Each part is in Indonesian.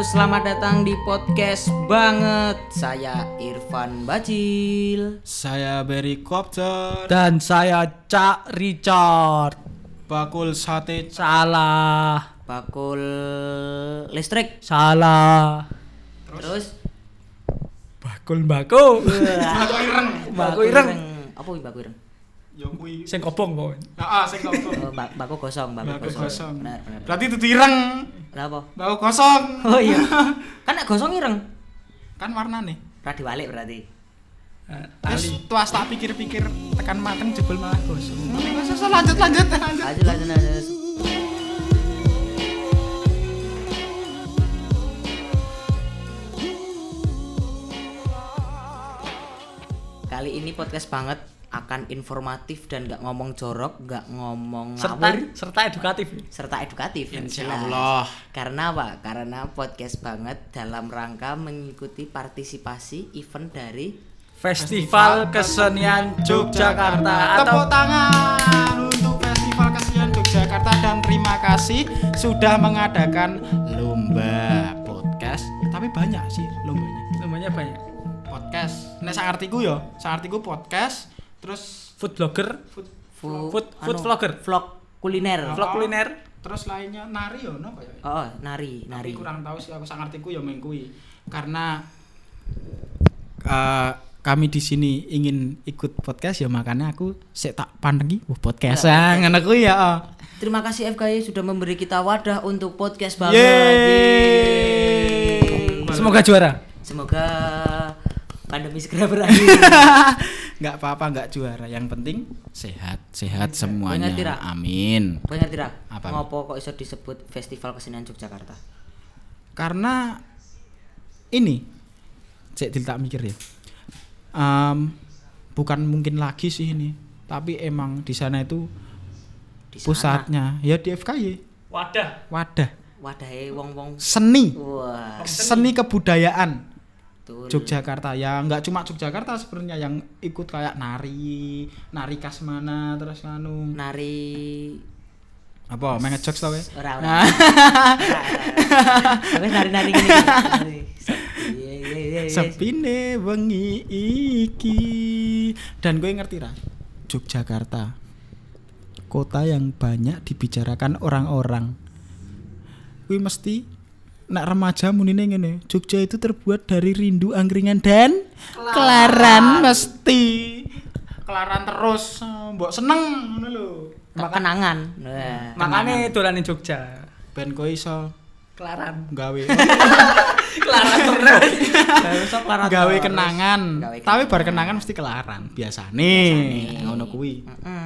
selamat datang di podcast banget. Saya Irfan Bacil. Saya Berry Kopter. Dan saya Cak Richard. Bakul sate. Salah. Bakul listrik. Salah. Terus Bakul mbako. Bakul ireng. Bakul ireng. Apa kuwi bakul ireng? Ya kuwi. Sing kobong kok. Heeh, sing kobong. Bakul gosong, Bakul gosong. Benar. Berarti dudu ireng. Lah apa? Bakul kosong. Oh iya. Kan nek gosong ireng. Kan warnane. Ra diwalik berarti. Terus tuas tak pikir-pikir tekan mateng jebol malah gosong. Lanjut. Lanjut. Kali ini podcast banget akan informatif dan gak ngomong jorok, gak ngomong ngawur, serta edukatif. serta edukatif. Insyaallah. Karena apa? Karena podcast banget dalam rangka mengikuti partisipasi event dari Festival Kesenian Yogyakarta. Tepuk tangan untuk Festival Kesenian Yogyakarta dan terima kasih sudah mengadakan lomba podcast. Tapi banyak sih lombanya. Namanya banyak. Podcast. Nek sak artiku podcast, terus Food blogger, food vlogger, vlog kuliner. vlog kuliner. terus lainnya nari yo napa ya? Oh, nari. Tapi kurang tahu sih aku sak artiku ya meng kuwi. Karena kami di sini ingin ikut podcast ya makanya aku sik tak pandengi podcast ngono kuwi ya. Terima kasih FKY sudah memberi kita wadah untuk podcast banget. Yeay. Semoga juara. Semoga pandemi segera berakhir. Enggak apa-apa, enggak juara. Yang penting sehat semuanya. Ngerti, Ra? Amin. Kowe ngerti ra? Apa? Ngopo kok iso disebut Festival Kesenian Yogyakarta? Karena ini cek tak mikir ya. Bukan mungkin lagi sih ini, tapi emang di sana itu Di sana. pusatnya ya di FKY. Wadah. Wadahe wong-wong. Seni. Wah, Seni kebudayaan betul. Yogyakarta ya nggak cuma Yogyakarta sebenarnya yang ikut kayak nari khas mana terus nganu Nari apa main ngejokes tau ya. ora. Nah. Wis nari-nari gini. Sepine wengi iki dan gue ngerti ra Yogyakarta kota yang banyak dibicarakan orang-orang. Kuwi mesti nak remaja munine ngene, Jogja itu terbuat dari rindu, angkringan dan kelaran mesti. Kelaran terus, mbok seneng ngono lho. Kenangan. Nah, Makane dolanin Jogja. Ben kowe iso Kelaran. gawe Kelaran terus. gawe kenangan. Gawe Tapi bar kenangan. kenangan mesti kelaran. Biasane ngono kuwi.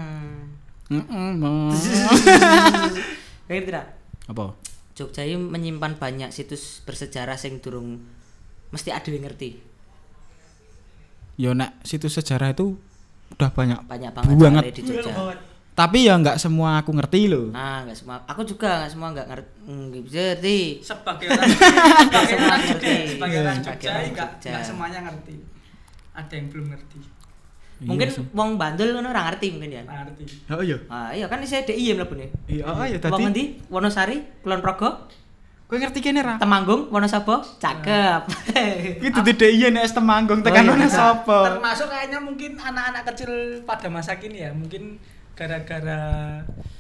Ngerti ra? Apa? Jogja ini menyimpan banyak situs bersejarah sing durung mesti ada yang ngerti. Ya nek situs sejarah itu udah banget Banget banget. di Jogja. Tapi ya nggak semua aku ngerti loh. Nah, enggak semua. Aku juga enggak semua enggak ngerti. Sebagai orang ngerti. sebagai orang Sebagai Jogja orang enggak Jogja. semuanya ngerti. Ada yang belum ngerti. Mungkin Iya sih. wong Bandul ngono ora ngerti mungkin ya. Ngerti. Oh iya. Ah, iya kan isih DIY mlebune. Iya, ya Wong tadi. endi? Wonosari, Kulon Progo, Kowe ngerti kene ra? Temanggung, Wonosobo, cakep. Iki dudu DIY nek es Temanggung tekan Oh, iya. mana sapa? Termasuk kayaknya mungkin anak-anak kecil pada masa kini ya, mungkin gara-gara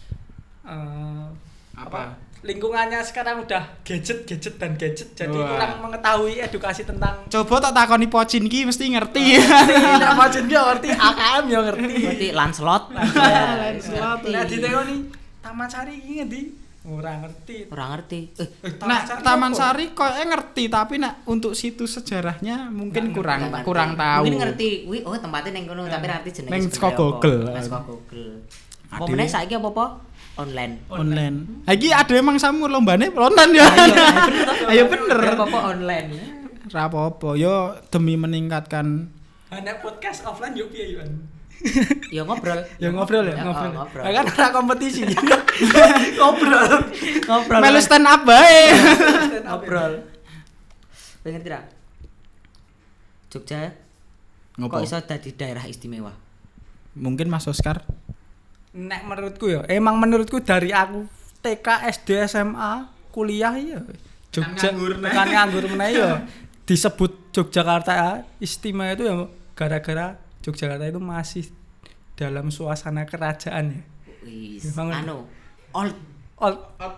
Apa? lingkungannya sekarang udah gadget jadi Wah. kurang mengetahui edukasi tentang Coba tak takoni Pocin ki mesti ngerti. apa jenenge ngerti AKM ya ngerti. Berarti Lancelot. Lancelot. Nah ditekoni Taman Sari iki ngendi? Ora ngerti. Ora ngerti. Nah, Taman Sari kok ngerti tapi nak untuk situs sejarahnya mungkin kurang tahu. Mungkin ngerti, wih, oh tempatnya neng kono tapi ngerti jenenge. Neng sebenarnya saka apa. Google. Neng saka Google. Apa Aduh. meneh saiki apa-apa? Online. Online. Iki ada emang samur lombane online ya. Ayo bener. Apa-apa online. Ra apa-apa yo demi meningkatkan Hanya podcast offline yo piye yo. Ya ngobrol. ya ngobrol ya. Ngobrol. Kan ora kompetisi. Ngobrol. Ngobrol. Melu stand up bae. Ngobrol. Pengen tidak? Jogja Ngopo? kok iso dadi daerah istimewa? Mungkin Mas Oscar. Nek menurutku ya, emang menurutku dari aku TK, SD, SMA, kuliah ya Jogja nganggur, nah. tekan nganggur meneh yo disebut Yogyakarta istimewa itu ya gara-gara Yogyakarta itu masih dalam suasana kerajaan ya. Wis, Bangun. anu old Old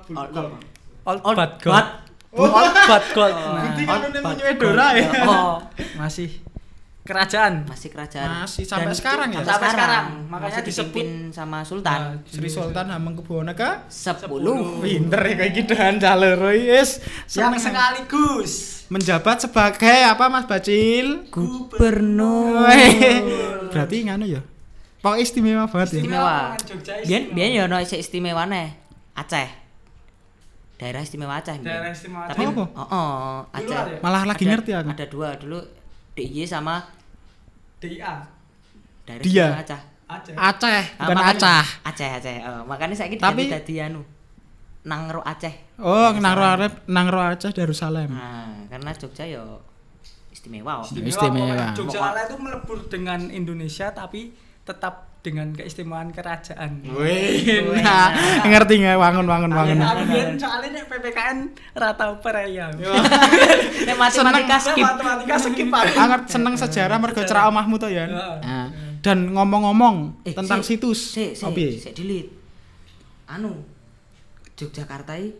Old but gold. but- Old but gold. Nah, Bukti old kan but namanya Dora ya. Oh, masih kerajaan. masih kerajaan. Masih sampai Dan sekarang ya? Sampai sekarang. Makanya Makanya dipimpin sama Sultan. Sri Sultan Hamengkubuwono ke 10. pinter ya kayak gitu dan jalur wis Yang seneng. sekaligus menjabat sebagai apa Mas Bacil? Gubernur. Berarti nganu ya. Pokoknya istimewa banget ya. Istimewa. Jogja Biyen ya ono sik istimewane. Aceh. Daerah istimewa Aceh. biyen. Daerah istimewa Tapi Aceh. Aceh. ada ya? Malah lagi ngerti aku. Ada dua dulu DIY sama DIA daerah Dia. istimewa Aceh. Aceh. Aceh, Ah, bukan makanya- Acah. Aceh. Makanya saiki Tapi- dadi anu. Nangro Aceh. Oh, Nangro Aceh Darussalam. Nah, karena Jogja yo istimewa. kok. Istimewa. Jogja itu melebur dengan Indonesia tapi tetap dengan keistimewaan kerajaan. Wih, nah, ngerti nggak? Wangun. Aku biyen soalnya nek PPKN rata peraya. Nek matematika skip. Matematika skip aku. Anget seneng sejarah mergo cerak omahmu to ya. Heeh. Nah, dan ngomong-ngomong tentang sik, situs. Sik, Oh, piye? sik delete. Anu Yogyakarta iki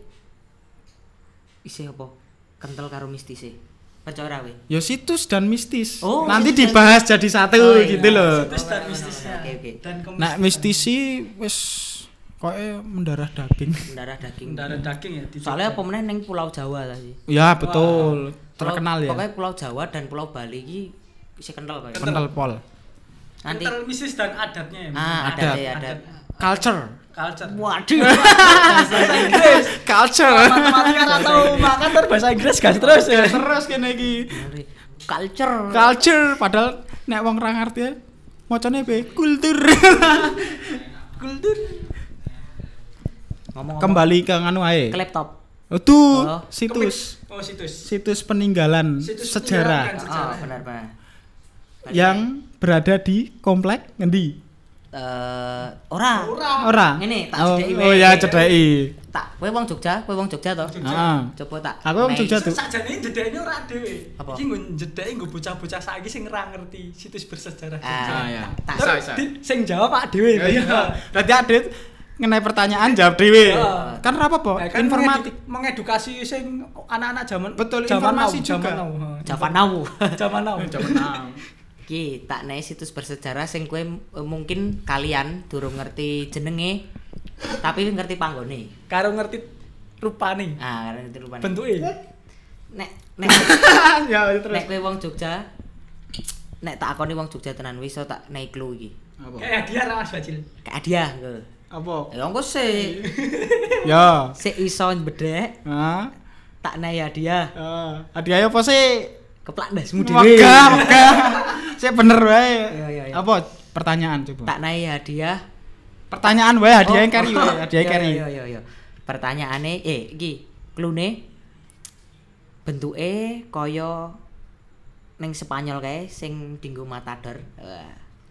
isih apa? Kental karo mistis e. Percaya we. Ya situs dan mistis. Oh, Nanti situs dan- dibahas jadi satu Oh, iya. gitu loh. Situs dan mistisnya. Oke. Dan Nah, mistisi wis koke mendarah daging. Mendarah daging. darah daging ya di Soalnya apa Jogja. meneh ning Pulau Jawa tadi. Ya, betul. Terkenal ya. Pokoknya Pulau Jawa dan Pulau Bali iki isih kental kok. Kental pol. Nanti Kental mistis dan adatnya ya. adat. Culture. Culture. Waduh. Culture. Matematika atau makanan bahasa Inggris gas terus ya. Terus kene iki. Culture. Culture padahal nek wong ra ngerti ya macane piye? Kultur. Kultur. Ngomong Kembali ke nganu ae. ke laptop. Itu Oh. situs. Oh, situs. Situs peninggalan Situs sejarah peninggalan. Sejarah. Benar. yang berada di komplek ngendi? Ora. Ora. Ngene, tak Oh, cedeki oh wae. ya cedeki. Tak, kowe wong Jogja to? Heeh. Coba tak. Aku wong Nek- Jogja tuh. Sakjane jedekne ora dhewe. Apa? Iki nggo jedeki nggo bocah-bocah saiki sing ora ngerti situs bersejarah Jogja. Ah, ya. tak. Bisa, bisa. Sing jawab Pak dhewe. Iya. Berarti Adit ngenai pertanyaan jawab dhewe. Iya. Kan ora apa-apa, Nah, kan informatif. mengedukasi sing anak-anak zaman Betul, zaman informasi now, juga. Zaman now. Javan now. Zaman now. Ki, tak naik situs bersejarah sing kowe mungkin kalian durung ngerti jenenge tapi ngerti panggone. Karo ngerti rupane. Ah, karena ngerti rupane. Bentuke. Nek Ya terus. nek kowe wong Jogja, nek tak akoni wong Jogja tenan wis iso tak naik clue iki. Apa? Kayak dia ra Mas Bacil. Kayak hadiah engko. Apa? Ya engko sik Ya. sik iso bedhek Hah? tak naik hadiah. Hadiahnya apa sih? Keplak ndasmu dhewe. Megah. Saya bener wae. Iya. Apa pertanyaan coba? Tak naik hadiah. Pertanyaan wae, hadiah yang carry wae, hadiah Iya, carry. Iya. Pertanyaane iki clue-ne bentuke kaya ning Spanyol kae sing dinggo Matador. Wah.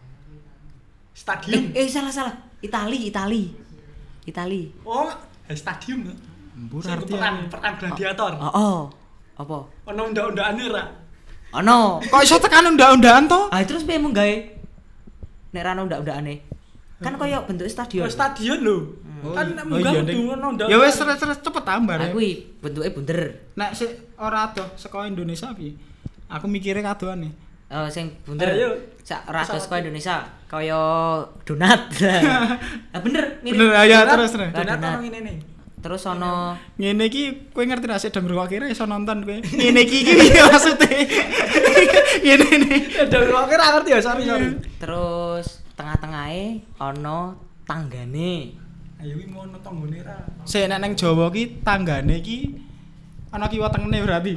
Stadium. Salah. Itali. Oh, stadium. Mbur Sing arti perang gladiator. Oh. Apa? Ono undang-undangane ra? Ono. kok iso tekan undang-undangan to? Ah terus piye mung gawe nek ra ono undak-undakane? Kan kaya bentuk stadion. Oh, stadion lho. Kan munggah kudu ono undang. Ya wis terus cepet tambah. Aku kuwi bentuke bunder. Nek sik ora adoh saka Indonesia piye? Aku mikire kadoan nih. Oh, sing bunder. Ayo. Sak rados kaya Indonesia, kaya donat. Ah bener, mirip. Bener, ayo terus. Donat Donat. ono ngene nih. Terus ono Ngene iki kowe ngerti ra sik dong ngrungokne iso nonton kowe. Ngene iki piye maksude? Ngene iki. Dari kok ora ngerti ya, sorry. terus tengah-tengahe ono tanggane. Ayo iki ngono tanggone ra. Sik nek nang Jawa ki tanggane ki ana kiwa tengene berarti.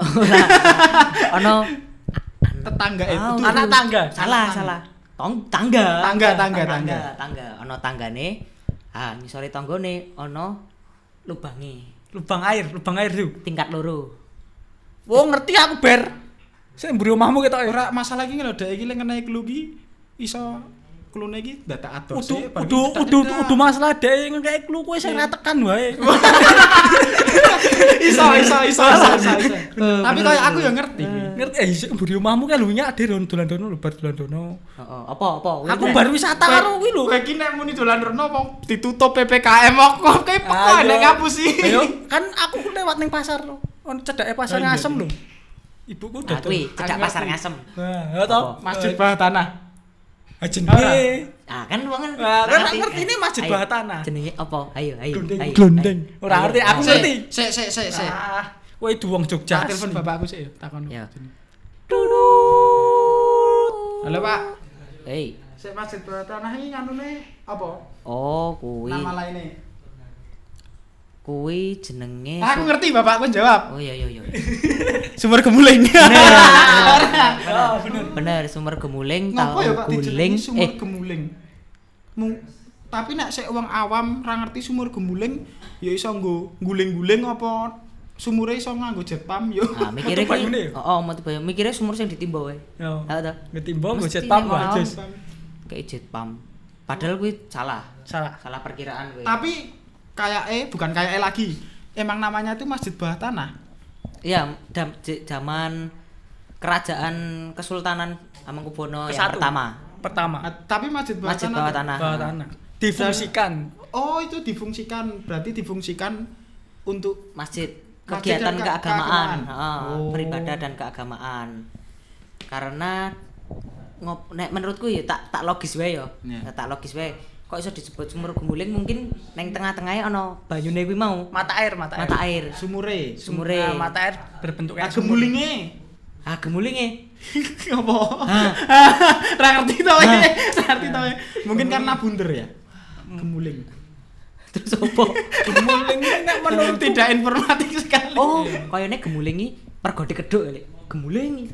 Ono Tetangga itu. Anak tangga. Salah. Tangga. Tangga. Ono tanggane. Ah, ngisore tanggane ono lubange. Lubang air tuh. Tingkat loro. Wong ngerti aku ber. Sing mburi omahmu ketok ya. Ora masalah iki lho dek iki lek ngenai clue ki iso klune iki dadak ados. Udah masalah dhek ngekek clue kowe sing ra tekan wae. Iso. Tapi kayak aku ya ngerti. Ngerti isik mburi omahmu kan lho nyak ade dolan-dolan lho bar dolan-dolan. Heeh, apa? Aku bar wisata karo kuwi lho. Kowe iki nek muni dolan rono apa ditutup PPKM kok peko nek kampus iki. Ayo, kan aku lewat ning pasar lho. Ono cedake pasar Ngasem lho. Ibuku Nah, kuwi cedak pasar Ngasem. Nah, toh Masjid Bawah Tanah. Ajen Ora. Ah, kan wong kan Kan ngerti ini Masjid Ayo, Bawah Tanah. Jenenge apa? Ayo. Glondeng. Ora ngerti, aku Ayo. ngerti. Sik. Kowe itu wong Jogja. Tak telepon bapakku sik ya, takon. Ya. Halo, Pak. Hei. Sik Masjid Bawah Tanah iki nganune apa? Oh, kuwi. Nama lainnya. Kuwi jenenge Aku ngerti bapakku jawab. Oh iya. Sumur Gemuling. Bener, sumur Gemuling, Ngopo ya Pak guling. dijenengi Sumur Gemuling? Tapi nek sik wong awam ra ngerti sumur Gemuling, ya iso nggo guling-guling apa sumure iso nganggo jet pump yo. Ah, mikire Metu banyune ki. ya? Heeh, metu banyu. Mikire sumur sing ditimba wae. Yo. Tahu ta? Ngetimbang go Mesti jet pump nek wae, mau. Jus. Kayak jet pump. Padahal kuwi salah. Salah. Salah perkiraan kuwi. Tapi bukan lagi. Emang namanya itu Masjid Bawah Tanah. Iya, zaman kerajaan Kesultanan Hamengkubuwono yang Kesatu. pertama. Tapi Masjid Bawah Masjid Tanah. Bawah tuh. Tanah. Bawah tanah. Difungsikan. Oh, itu difungsikan. Berarti difungsikan untuk Masjid Masjid kegiatan dan keagamaan, keagamaan. Oh. beribadah dan keagamaan. Karena nek menurutku ya tak logis wae ya. Yeah. Tak logis wae. Kok iso disebut sumur Gemuling mungkin neng tengah-tengahnya ana banyune kuwi mau. Mata air. Mata air. sumure. Sumure. Nah, mata air berbentuk Ah, kayak sumur. gemulinge. Ah, Gemulinge. Apa? Ah. Ra ngerti to wae. Ra ngerti to wae. Mungkin karena bunder ya. Gemuling. Terus apa? Gemuling ini nek menurut Tidak informatif sekali. Oh, koyone Gemulingi pergo dikeduk kali. Gemulingi.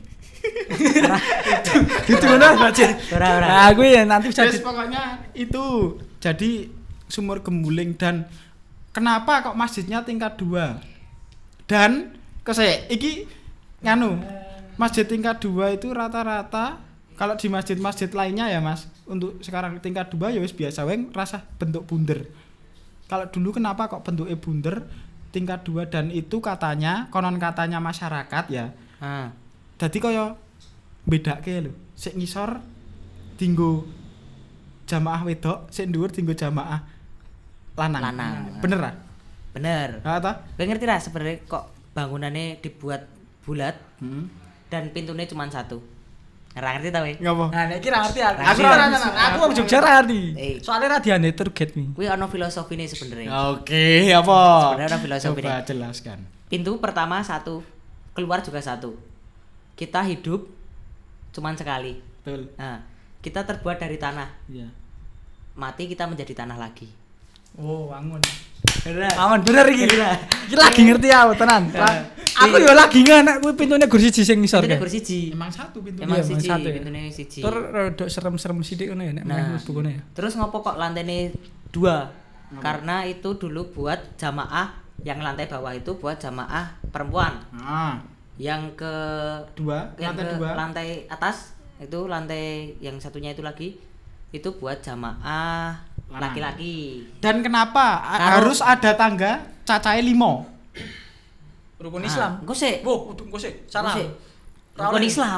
gitu ngono bajir. Ora. Nah, aku ya nanti bisa Jadi pokoknya itu jadi sumur Gemuling. Dan kenapa kok masjidnya tingkat 2? Dan iki nganu masjid tingkat 2 itu rata-rata kalau di masjid-masjid lainnya ya Mas, untuk sekarang tingkat 2 ya wis biasa wae rasa bentuk bunder. Kalau dulu kenapa kok bentuknya bunder tingkat 2, dan itu katanya konon katanya masyarakat ya. Ah. Dadi kaya bedake lho. Sik ngisor dinggo jamaah wedok, sik dhuwur dinggo jamaah lanang. Bener ah? Bener. Ha ta? Gue ngerti lah sebenarnya kok bangunannya dibuat bulat dan pintunya cuma satu. Nggak ngerti tau ya? Ngapa? Nah, nek iki ra ngerti aku. Aku Aku ra ra aku wong Jogja ra ngerti. Soale ra diane tour guide nih. Kuwi ono filosofine sebenarnya. Oke, apa? Sebenarnya ada filosofi Coba nih. jelaskan. Pintu pertama satu, keluar juga satu. Kita hidup cuma sekali. Betul. Nah, kita terbuat dari tanah. Iya. Mati kita menjadi tanah lagi. Oh, wangun. Bener. Aman bener iki. Bener. Iki lagi ngerti aku tenan. Aku yo lagi ngenek kuwi pintune gur siji sing ngisor. Pintunya bersiji. Emang satu pintu. Emang Iya, siji, satu ya. pintunya siji. Tur rada serem-serem sithik ngono ya nek Nah, mlebu kono ya. terus ngopo kok lantainya 2? Karena itu dulu buat jamaah, yang lantai bawah itu buat jamaah perempuan. Ah, Yang ke yang lantai ke 2. lantai atas itu lantai yang satunya itu lagi itu buat jamaah Lanang. laki-laki. Dan kenapa Kalau- harus ada tangga cacahe 5? Rukun Nah, Islam. engko sik. Oh, engko sik. Salah. Engko sik. Ra Rukun oleh. Islam.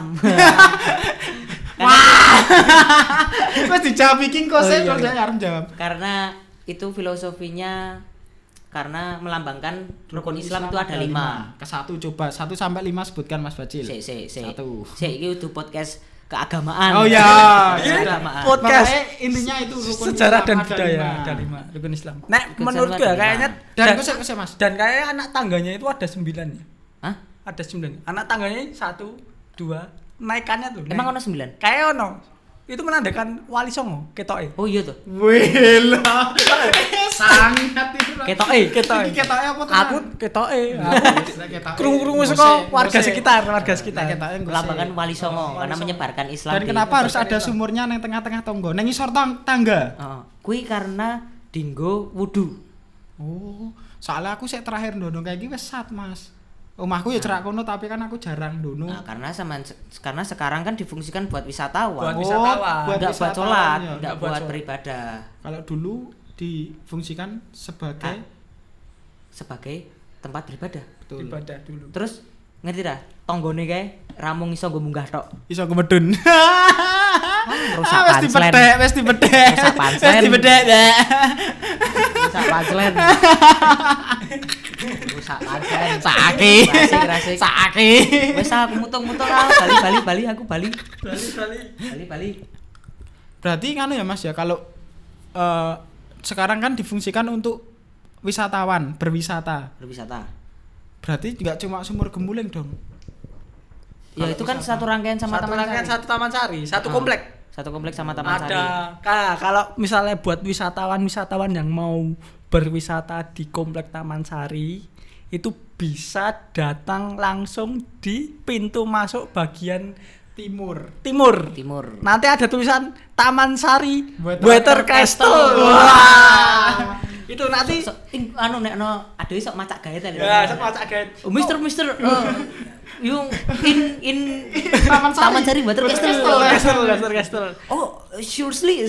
Wes dijawab iki kok sik iya, kok iya. saya arep jawab. Karena itu filosofinya karena melambangkan rukun Islam itu ada 5. Ke 1 coba 1 sampai 5 sebutkan Mas Bacil. Sik. 1. Sik iki udah podcast keagamaan. Oh ya, Keagamaan. Podcast. Makanya intinya itu rukun Sejarah Islam dan ada budaya 5. ada 5 rukun Islam. Nek Rukun menurutku Islam ya ada kayaknya 5. Dan kok Mas. dan kayaknya anak tangganya itu ada 9 ya. Hah? Ada 9. Anak tangganya 1 2 naikannya tuh. Emang ono 9? Kayak ono. Itu menandakan Wali Songo ketoke. Oh iya tuh. Wela. Sangat itu. Ketoke. Ketoke. Iki ketoke apa tuh? Aku ketoke. Ketoke. Krungu-krungu saka warga sekitar, Melambangkan Wali Songo karena menyebarkan Islam. Dan di- kenapa harus ada sumurnya nang tengah-tengah tonggo? Nang ngisor tangga. Heeh. Kuwi karena dinggo wudu. Oh, soalnya aku sik terakhir ndondong kayak iki wis sat, Mas. Omahku ya cerak kono tapi kan aku jarang dono. Nah, karena sekarang kan difungsikan buat wisatawan. Buat wisatawan. Enggak buat wisatawan, sholat, ya. enggak buat buat sholat. beribadah. Kalau dulu difungsikan sebagai Sebagai tempat beribadah. betul. Ibadah dulu. Terus ngerti dah, tonggone kae ramung iso nggo munggah tok. Iso kemedun. Rusak Wes panslen. dibedhek. Rusak panslen. Wes dibedhek. Rusak panslen. Rusak panslen. Saiki. Rasik. Saiki. Wes aku mutung-mutung bali aku bali. Bali. Berarti kan ya Mas ya kalau sekarang kan difungsikan untuk wisatawan, berwisata. Berwisata. Berarti nggak cuma Sumur Gemuling dong. Ya itu kan satu rangkaian sama Satu Taman rangkaian Sari. satu Taman Sari, satu Ah. komplek. Satu kompleks sama Taman Sari. Kalau misalnya buat wisatawan yang mau berwisata di komplek Taman Sari itu bisa datang langsung di pintu masuk bagian Timur. Timur. Nanti ada tulisan Taman Sari Water Water Castle. Castle. Wah. Itu nanti Anu nek no adewe sok macak gaet lho. ya sama Cak Gaet. Oh, Mister, yung in Taman Sari. Water Castle. Castle. Oh, seriously.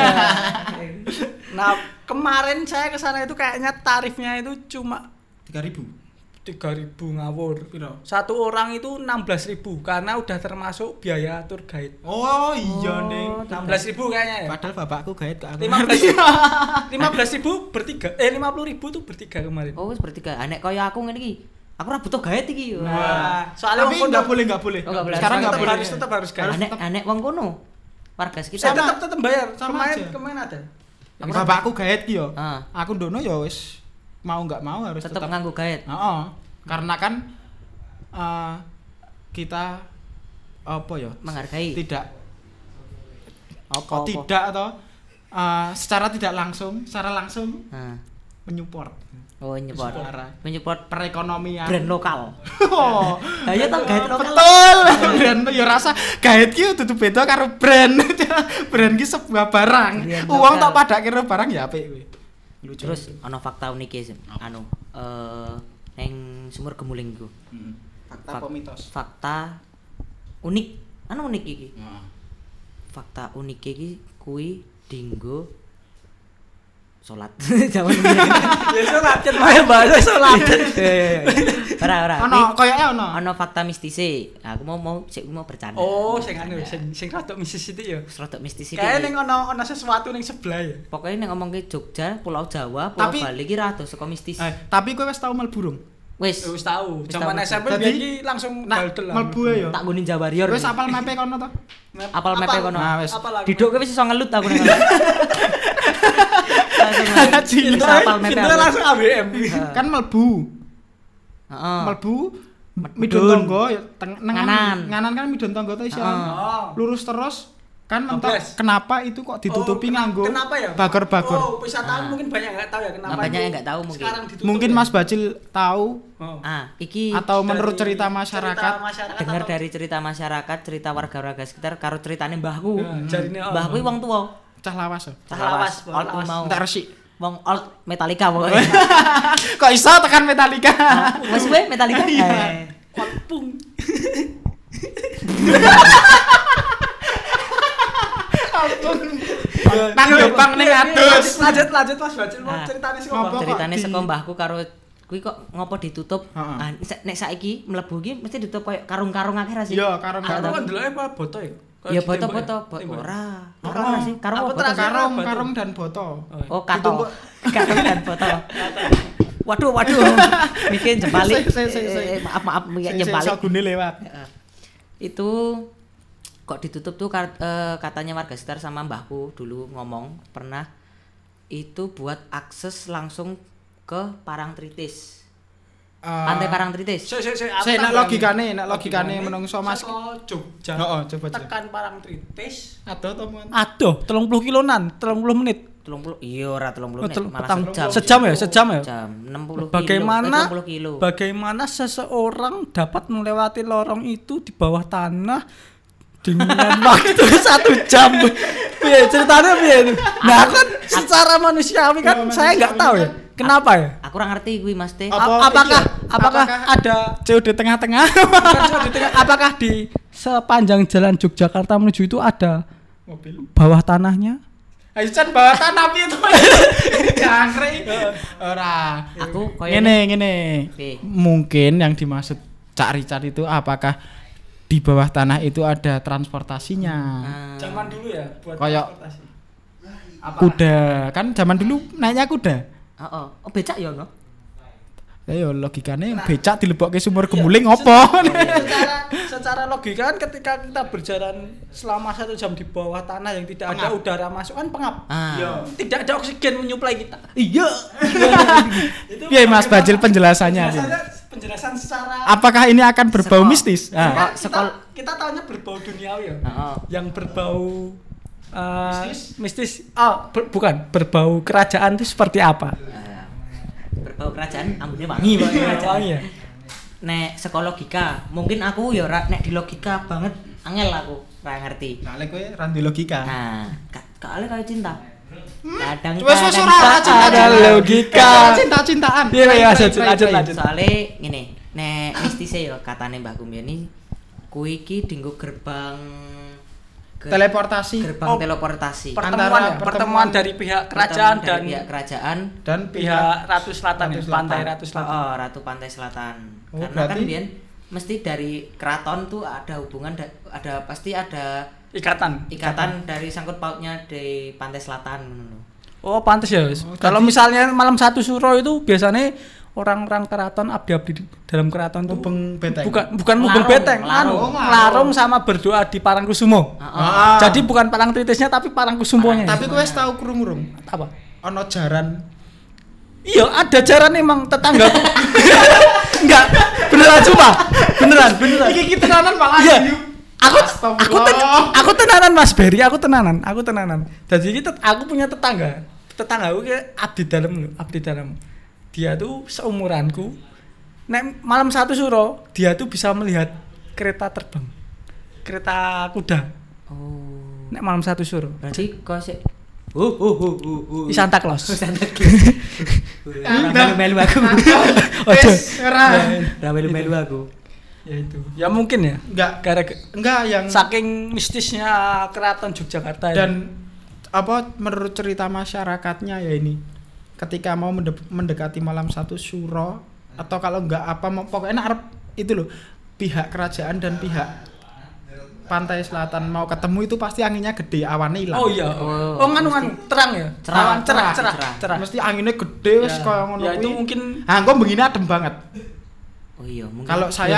Nah, kemarin saya ke sana itu kayaknya tarifnya itu cuma 3.000. 3.000 ngawur. Piro? Satu orang itu 16.000 karena udah termasuk biaya tour guide. Oh iya ning. 16.000 kayaknya ya. Padahal bapakku gaet ke aku. 15.000 bertiga. 50.000 tuh bertiga kemarin. Oh, wis bertiga. Nek kaya aku ngene iki. Aku ora butuh gaet iki. Nah, soalnya Tapi wong nggak kono boleh. Oh, nggak boleh. Sekarang nggak boleh. tetap harus guide. Anek wong kono. Warga sekitar. Sama. Tetap bayar. Sama aja. Kemarin ada. Bapakku gaet ki yo. Ah. Aku ndono ya wis mau nggak mau harus Tetep tetap. nganggo gaet. Heeh. Karena kan kita apa ya? Menghargai. Tidak Apa? tidak atau secara tidak langsung, secara langsung Nah. menyupport Oh, nyepot. Suara. Menyupport perekonomian. brand lokal. Oh, Ayo tau gaet lokal. betul. Brand ya rasa gaet ki dudu beda karo brand. Brand ki sebuah barang. Brand Uang lokal. tak padake karo barang ya apik kuwi. Lucu. Terus ana fakta unik e, anu neng Sumur Gemuling iku. fakta apa mitos? Fakta unik. Anu unik iki. Heeh. Fakta unik iki kuwi dinggo salat. Jaman biyen. Ya salat kan main bahasa salat. Ora. Ono koyoke ono. Ono fakta mistise. Aku mau bercanda. Oh, sing anu sing rada misis itu ya. Rodok mistis iki. Kayak ning ono sesuatu ning sebelah ya. Pokoknya nek ngomongke Jogja, Pulau Jawa, Pulau Tapi- Bali iki rada saka mistis. Tapi kowe wis tau mlebu burung? Wis Wis tahu. Wis Zaman tahu. SMP Jadi, biyen iki langsung Nak baldel lah. mlebu ya. tak nggo Ninja Warrior. Wis apal mape kono to? Apal mepe kono. Nah, wis. Diduk kowe wis iso ngelut aku nang kono. Langsung Cilik. bisa apal mepe. Itu aku. langsung ABM. Kan mlebu. Heeh. Mlebu midun Medun. tangga ya Nganan. Nganan kan midun tangga to iso. Oh. Lurus terus kan mentok Ambles. kenapa itu kok ditutupi Oh, nganggo kenapa ya? bagor-bagor. Oh, wisatawan Ah. mungkin banyak enggak tahu ya kenapa. Banyak itu yang nggak tahu mungkin. Sekarang ditutup. Mungkin ya? Mas Bacil tahu Oh. Iki atau menurut Dari cerita masyarakat. dengar atau- dari cerita masyarakat, cerita warga-warga sekitar karo ceritane mbahku. Ya, jarine, oh. Mbahku wong tuwa. Cah lawas. Cah Lawas, old lawas. mau. Entar resik. Wong old Metallica pokoknya. Kok iso tekan Metallica? Wes kowe Metallica? Iya. Kolpung. Nang Jepang ning adus. Lanjut Mas Bacil mau Ah. ceritanya sih Ngopo? kok. Ceritane di- saka mbahku karo kuwi kok ngopo ditutup? Heeh. Ah, nek saiki mlebu iki mesti ditutup koyo karung-karung akeh ra sih? Iya, karung-karung. Aku kan deloke apa boto ya? Ya boto-boto, ora. Ora sih, karung Apa apa boto? terakhir? Karung, Batu. karung dan boto. Oh, kato. Karung dan boto. Waduh. Bikin jembalik. Sik. Maaf, Sing jembalik. sagune lewat. Itu kok ditutup tuh katanya warga sekitar sama mbahku dulu ngomong pernah itu buat akses langsung ke Parangtritis. Pantai Parangtritis. Sik nek logikane menungso Mas. Saka Jogja. Heeh, coba. Tekan Parangtritis. Aduh to, Mon. Aduh, 30 kilonan, 30 menit. 30 iya ora 30 menit Betul, malah petang jam. sejam ya, sejam ya. Jam 60 Bagaimana 30 kilo. bagaimana seseorang dapat melewati lorong itu di bawah tanah dengan waktu 1 jam? Piye ceritanya piye itu? Nah, kan secara manusiawi kan Iya, saya nggak tahu ya. manusiawi Kenapa ya? Aku ora ngerti kuwi Mas Teh. Apa Apakah iki apakah ada COD tengah-tengah? bukan cuma di tengah, apakah di sepanjang jalan Yogyakarta menuju itu ada Mobil. bawah tanahnya? Ayo Chan bawa tanah itu. Jangkrik. Ora. Aku koyo Ngene. Oke. Mungkin yang dimaksud Cak Richard itu apakah di bawah tanah itu ada transportasinya? Zaman dulu ya buat Kayak transportasi. kuda. Kan zaman dulu naiknya kuda. Heeh. Oh, becak ya ono. Ya logikane becak dilebokke sumur gemuling opo? Secara logika kan ketika kita berjalan selama 1 jam di bawah tanah yang tidak ada udara masuk kan pengap. Ah. Tidak ada oksigen menyuplai kita. Iya. Piye Mas Bajil penjelasannya? Penjelasan secara Apakah ini akan berbau mistis? Kan Sekol- kita tahunya berbau duniawi ya. Heeh. Yang berbau mistis. Oh, bukan, berbau kerajaan itu seperti apa? Berbau kerajaan ambune wangi Pak kerajaan. Wangi ya. Nek saka logika, mungkin aku ya nek di logika banget angel aku ora ngerti. Soale kowe ra ndek logika. Nah, kali kayak cinta. Kadang Wes ora ada logika. Cinta-cintaan. Iya, lanjut. Soale ngene, nek mistise ya katane Mbah Kumbian iki kuwi iki dienggo gerbang Teleportasi. gerbang teleportasi. Pertemuan dari pihak kerajaan Pertemuan dari pihak kerajaan dan pihak Ratu Selatan ya, Ratu pantai Selatan. Ratu Selatan. Oh, Ratu Pantai Selatan. Oh, Karena berarti- kan Bian mesti dari keraton tuh ada hubungan ada pasti ada ikatan dari sangkut pautnya di Pantai Selatan ngono. Oh, pantes ya. Kalau misalnya malam 1 Suro itu biasanya orang-orang keraton abdi-abdi di dalam keraton tuh Mubeng beteng. bukan mubeng Larung, beteng, larung. larung sama berdoa di Parangkusumo. Ah. Jadi bukan Parangtritisnya tapi Parangkusumonya. Tapi kowe wis tau krungu apa? ana jaran Iya, ada jaran emang tetangga. Enggak, beneran cuma. Beneran. iki tenanan malah. Iya. Astagfirullah. Aku tenanan Mas Berry, aku tenanan. Jadi aku punya tetangga aku kayak abdi dalam. Dia tuh seumuranku. Nek malam 1 Suro, dia tuh bisa melihat kereta terbang. Kereta kuda. Oh. Nek malam 1 Suro. Berarti kok sik Di Santa Claus. melu aku. Wes ora. Melu aku. Ya itu. Ya mungkin ya. Enggak yang Saking mistisnya keraton Yogyakarta dan apa menurut cerita masyarakatnya ya ini ketika mau mendekati malam 1 Suro atau kalau enggak apa pokoknya arep itu loh pihak kerajaan dan pihak Pantai Selatan mau ketemu itu pasti anginnya gede awannya hilang. Oh iya. Oh nganu terang ya. Cerah. Cerah. Mesti anginnya gede wis Ya. kaya ngono Ya itu kuwi. mungkin Engko begini adem banget. Oh iya, mungkin.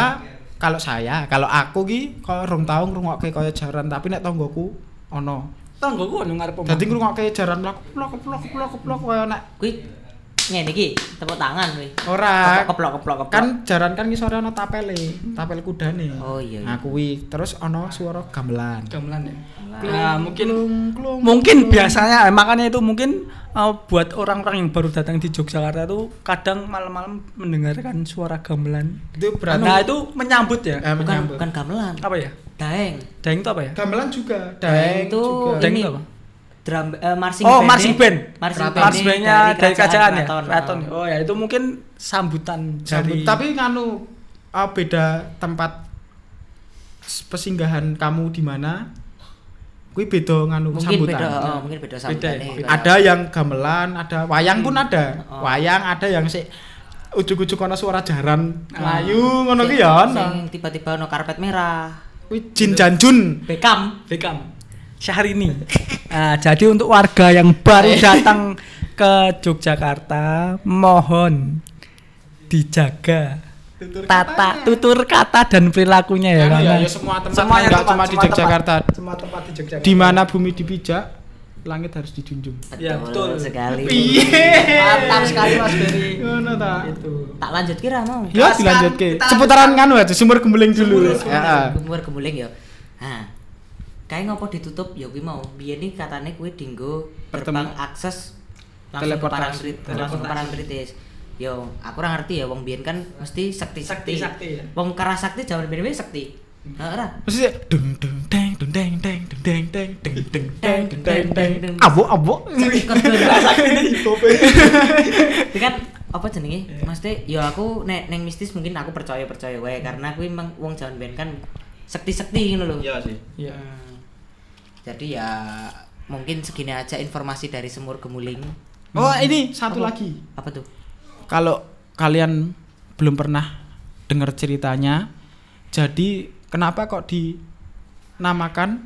Kalau aku ki kaya rong tau ngrungokke kaya jaran tapi nek tanggoku ana. tanggoku ono ngarep omah. Dadi ngrungokke jaran plok kaya nek Kuwi ngene iki, tepuk tangan kuwi. ora Keplok. kan jaran kan ngisore ana tapel kudane. Oh iya. Nah kuwi terus ana suara gamelan. Gamelan ya. Nah, Klung. mungkin biasanya makanya itu mungkin buat orang-orang yang baru datang di Yogyakarta itu kadang malam-malam mendengarkan suara gamelan. Itu berarti Nah, itu menyambut ya. Bukan gamelan. Apa ya? Daeng. Daeng itu apa ya? gamelan juga. Daeng itu juga. Daeng ini itu apa? drum marching Oh, band. marching band. Marching Marching bandnya dari kerajaan ya. Keraton. Keraton. Oh ya, itu mungkin sambutan dari Tapi nganu beda tempat pesinggahan kamu di mana? Kuwi beda nganu Mungkin sambutan. beda, mungkin beda sambutannya. Beda. Ada yang gamelan, ada wayang pun ada. Oh. Wayang ada yang sik ujug-ujug ana suara jaran mlayu ngono ki ya ana. Sing tiba-tiba ono karpet merah. Kuwi Jin Janjun. Beckham. Syahrini. Nah, jadi untuk warga yang baru datang ke Yogyakarta, mohon dijaga tutur kata dan perilakunya ya, Ya, karena semua tempat semuanya enggak tempat, cuma di semua Yogyakarta. semua tempat di Yogyakarta. Di mana bumi dipijak, langit harus dijunjung. Ya, betul sekali. Mantap sekali Mas Berry. Ngono ta. Itu. Tak lanjut kira mau. Ya Jelaskan, dilanjutke. kita Seputaran nganu aja sumur gemuling dulu. Heeh. Kumur kemuling ya. Nah. Kae ngopo ditutup ya kuwi mau. Biyen iki katane kuwi dinggo gerbang akses langsung ke Parangtritis. Yo, aku ora ngerti ya wong biyen kan mesti sekti-sekti. Sakti ya. Wong Karasakti jaman biyen sekti. Heeh ora. Mesti dung dung deng dung deng deng dung deng deng dung dung deng dung deng deng. Abo. Ikut Karasakti. Itu kan apa jenenge? Maksudnya ya aku nek neng mistis mungkin aku percaya wae karena aku emang wong jaman ben kan sekti-sekti ngono lho. Iya sih. Iya. Jadi ya mungkin segini aja informasi dari Semur Gemuling. Oh, ini satu lagi. Apa tuh? Kalau kalian belum pernah dengar ceritanya, jadi kenapa kok dinamakan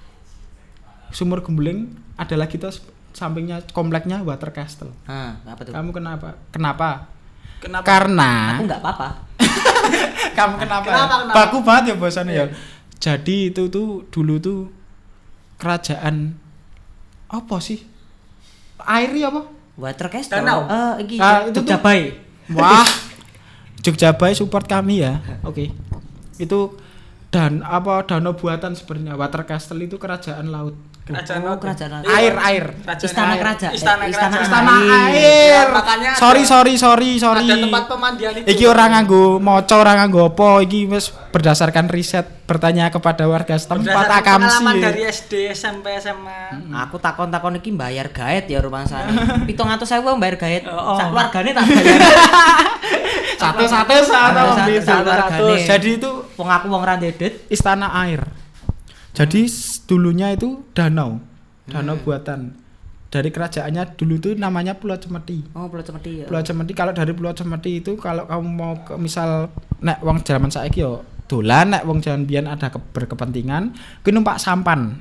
Sumur Gemuling? Ada lagi tuh sampingnya kompleknya Water Castle. Apa tuh? Kamu kenapa? Kenapa? Karena Aku nggak apa-apa. kamu kenapa? Kenapa? Baku banget ya bosannya ya. Jadi itu tuh dulu tuh kerajaan apa sih? Airi apa? Water Castle. Danau. Iki Itu tuh- Jogjabai. Wah, Jogjabai support kami ya. Oke. Itu danau buatan sebenarnya. Water Castle itu kerajaan laut. Kerajaan Oh, laut. kerajaan laut. Air. Istana Air. kerajaan. Istana kerajaan. Istana air. air. Ya, makanya sorry. Ada tempat pemandian itu. Iki orang nganggo maca, orang nganggo apa? Iki wis berdasarkan riset bertanya kepada warga setempat Berdasarkan akamsi. pengalaman dari SD, SMP, SMA. Aku takon-takon iki bayar gaet ya rumangsane. 700.000 bayar gaet. Oh. Sak keluargane tak bayar. Satu-satu Satu-satu. Jadi itu Wong aku wong ra ndedet. istana air. Jadi dulunya itu danau buatan. Dari kerajaannya dulu tuh namanya Pulau Cemeti. Oh, Pulau Cemeti ya. Pulau Cemeti, kalau dari Pulau Cemeti itu kalau kamu mau ke misal nek wong zaman saiki yo dolan, nek wong zaman biyen ada berkepentingan kuwi numpak sampan.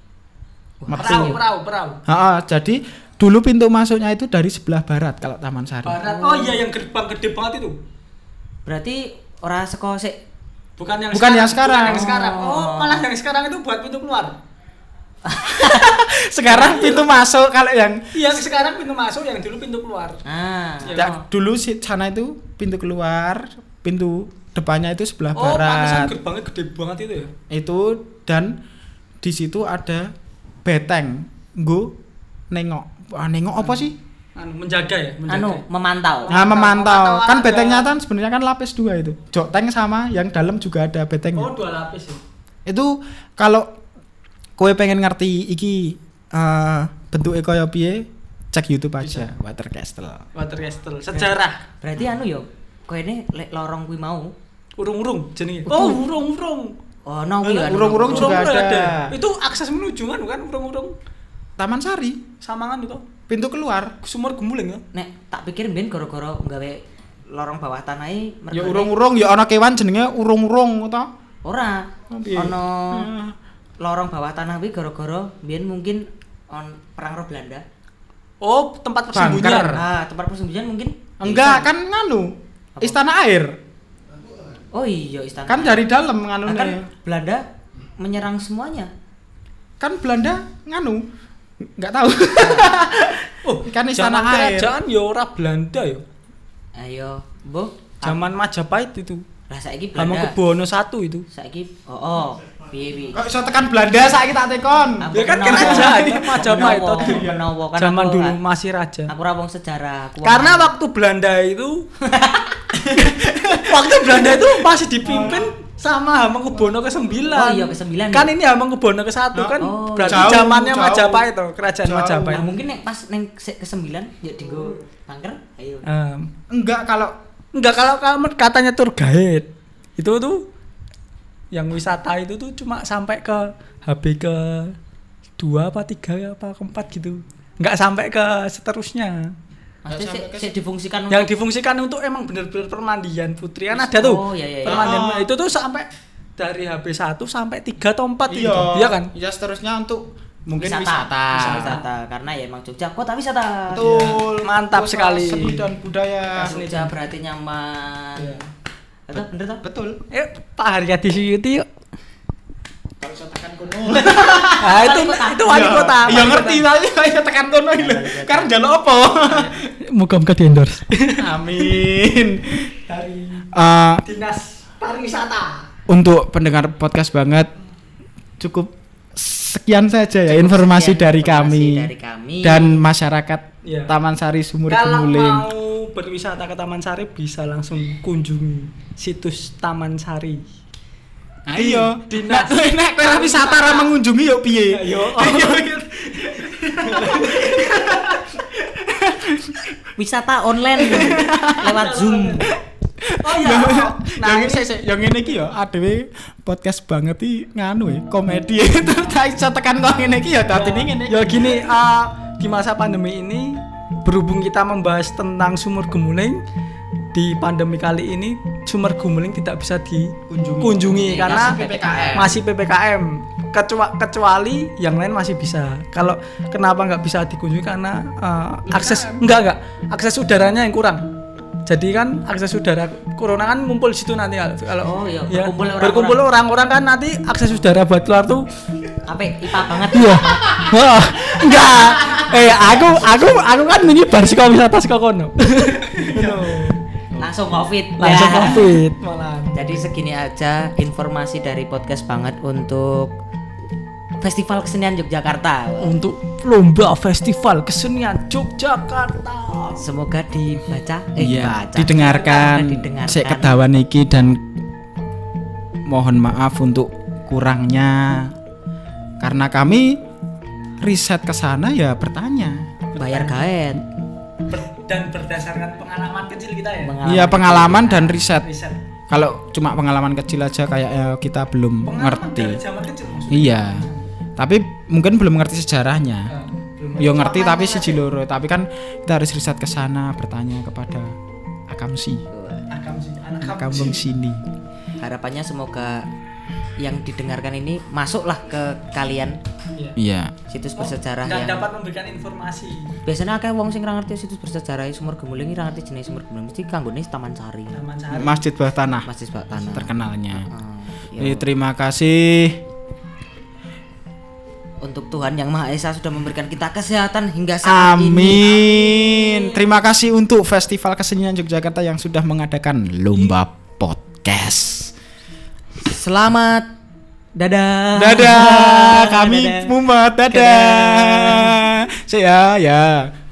Metu. Perahu. Jadi dulu pintu masuknya itu dari sebelah barat kalau Taman Sari. Barat. Oh iya, yang gerbang gede banget itu. Berarti ora saka sik Bukan yang Bukan yang sekarang. Bukan yang sekarang. Oh, malah yang sekarang itu buat pintu keluar. Sekarang pintu masuk kalau yang Yang sekarang pintu masuk, yang dulu pintu keluar. Iya. dulu sih sana itu pintu keluar, pintu depannya itu sebelah Oh, pantesan barat. gerbangnya gede banget itu ya. Itu dan di situ ada beteng nggo nengok. Nengok apa sih? Menjaga ya, Memantau. Nah, memantau. Memantau Kan ada. betengnya kan sebenarnya kan lapis 2 itu. Joteng sama yang dalam juga ada betengnya. Oh, 2 lapis ya. Itu kalau kowe pengen ngerti iki bentuknya kaya piye, cek YouTube aja Water Castle. Water Castle. Sejarah. Berarti yo koene lek lorong kuwi mau. Urung-urung jenenge. Oh, urung-urung. Oh, no kuwi kan. Urung-urung juga ada. Itu akses menuju kan, bukan urung-urung. Taman Sari, Samangan itu. pintu keluar. Sumur Gemuling ya. Nek tak pikir ben gara-gara gawe lorong bawah tanah iki Ya urung-urung ya ana kewan jenenge urung-urung to. Ora. Oh, piye? Ono lorong bawah tanah kuwi gara-gara biyen mungkin perang roh Belanda. Oh, tempat Bunker. persembunyian. Tempat persembunyian mungkin. Enggak, kan nganu. Apa? Istana air. Oh iya, istana. Kan dari dalam Nah, nganune. kan Belanda menyerang semuanya. Kan Belanda nganu. Enggak tahu. Oh, Kan istana zaman air. kerajaan ya ora Belanda ya. Ayo, Bu. Zaman Majapahit itu. Lah saiki Belanda. Hamengkubuwono I itu. Saiki piye. Kok iso tekan Belanda saiki tak tekon. Aku Ya kan menawa. kerajaan Majapahit Menawa, tadi. menawa, kan Zaman aku dulu kan- masih raja. Aku ora wong sejarah. Karena waktu Belanda itu itu masih dipimpin sama Hamengkubuwono ke-9. Oh iya, ke-9 Kan ya? ini Hamengkubuwono ke-1 kan Oh, berarti jauh, zamannya jauh. Majapahit tuh, kerajaan Jauh. Majapahit. Nah, mungkin nek pas neng ke-9 ya dienggo bunker. Ayo. Enggak kalau Enggak, kalau kamu katanya tour guide itu tuh yang wisata itu tuh cuma sampai ke HB ke 2 apa 3 apa ke 4 gitu. Enggak sampai ke seterusnya. Maksudnya sik difungsikan Yang difungsikan untuk emang bener-bener permandian putri kan ada tuh. Oh, iya. Permandian Ah. itu tuh sampai dari HB 1 sampai 3 atau 4 iya, gitu. Iya kan? Iya, seterusnya untuk mungkin wisata. wisata. Karena ya emang Jogja kota wisata. Betul. Mantap Kota sekali. Seni dan budaya. Jogja berarti nyaman. Iya. Betul, bener toh? Betul. Pak Haryadi Suyuti yuk. Kalau iso tekan kono. Nah, itu wali kota. Iya ngerti tapi ayo tekan kono iki lho. Karena njaluk apa? Muga-muga di endorse. Amin. Dari Eh, Dinas Pariwisata. untuk pendengar podcast banget cukup sekian saja ya informasi Sekian dari informasi kami dari kami. dan masyarakat Iya. Taman Sari Sumur Kalau Gemuling. mau berwisata ke Taman Sari bisa langsung kunjungi situs Taman Sari. Nah, iya. Dinas Nek kowe wisata ra mengunjungi yo piye? Ayo. wisata online lewat Zoom. Oh iya. Nah, yang ngene iki ya adewe podcast banget iki nganu komedi itu tak iso tekan kok ngene iki ya dadine ngene. Ya gini, di masa pandemi ini berhubung kita membahas tentang sumur gemuling, di pandemi kali ini sumur gemuling tidak bisa dikunjungi karena masih PPKM. Kecuali yang lain masih bisa. Kalau kenapa nggak bisa dikunjungi karena akses udaranya yang kurang. Jadi kan akses udara corona kan ngumpul di situ nanti kalau ya, berkumpul orang-orang kan nanti akses udara buat keluar tuh IPA banget. Iya. Wah, enggak. Aku kan menyebar saka wisata saka kono. Langsung Covid malah. Jadi segini aja informasi dari podcast banget untuk Festival Kesenian Yogyakarta. Untuk lomba Festival Kesenian Yogyakarta. Semoga dibaca, didengarkan. Saya kedawan iki dan mohon maaf untuk kurangnya karena kami riset ke sana ya bertanya. Bayar gaet. Dan berdasarkan pengalaman kecil kita ya. Iya pengalaman dan riset. Kalau cuma pengalaman kecil aja kayak kita belum ngerti. Iya. Tapi mungkin belum ngerti sejarahnya. Yo ngerti tapi siji loro, tapi kan kita harus riset ke sana, bertanya kepada Akamsi. Anak kampung sini. Harapannya semoga yang didengarkan ini masuklah ke kalian. Iya. Situs bersejarah dan yang dapat memberikan informasi. Biasanya akeh wong sing ra ngerti situs bersejarah Sumur Gemuling ra ngerti jenis Sumur Gemuling mesti kanggone Taman Sari. Masjid Bawah Tanah. Masjid Bawah Tanah. Terkenalnya. Terima kasih. Untuk Tuhan Yang Maha Esa sudah memberikan kita kesehatan hingga saat ini. Amin. Terima kasih untuk Festival Kesenian Yogyakarta yang sudah mengadakan lomba podcast. Selamat. Dadah. Dadah. Kami Mumet. Dadah. Saya ya.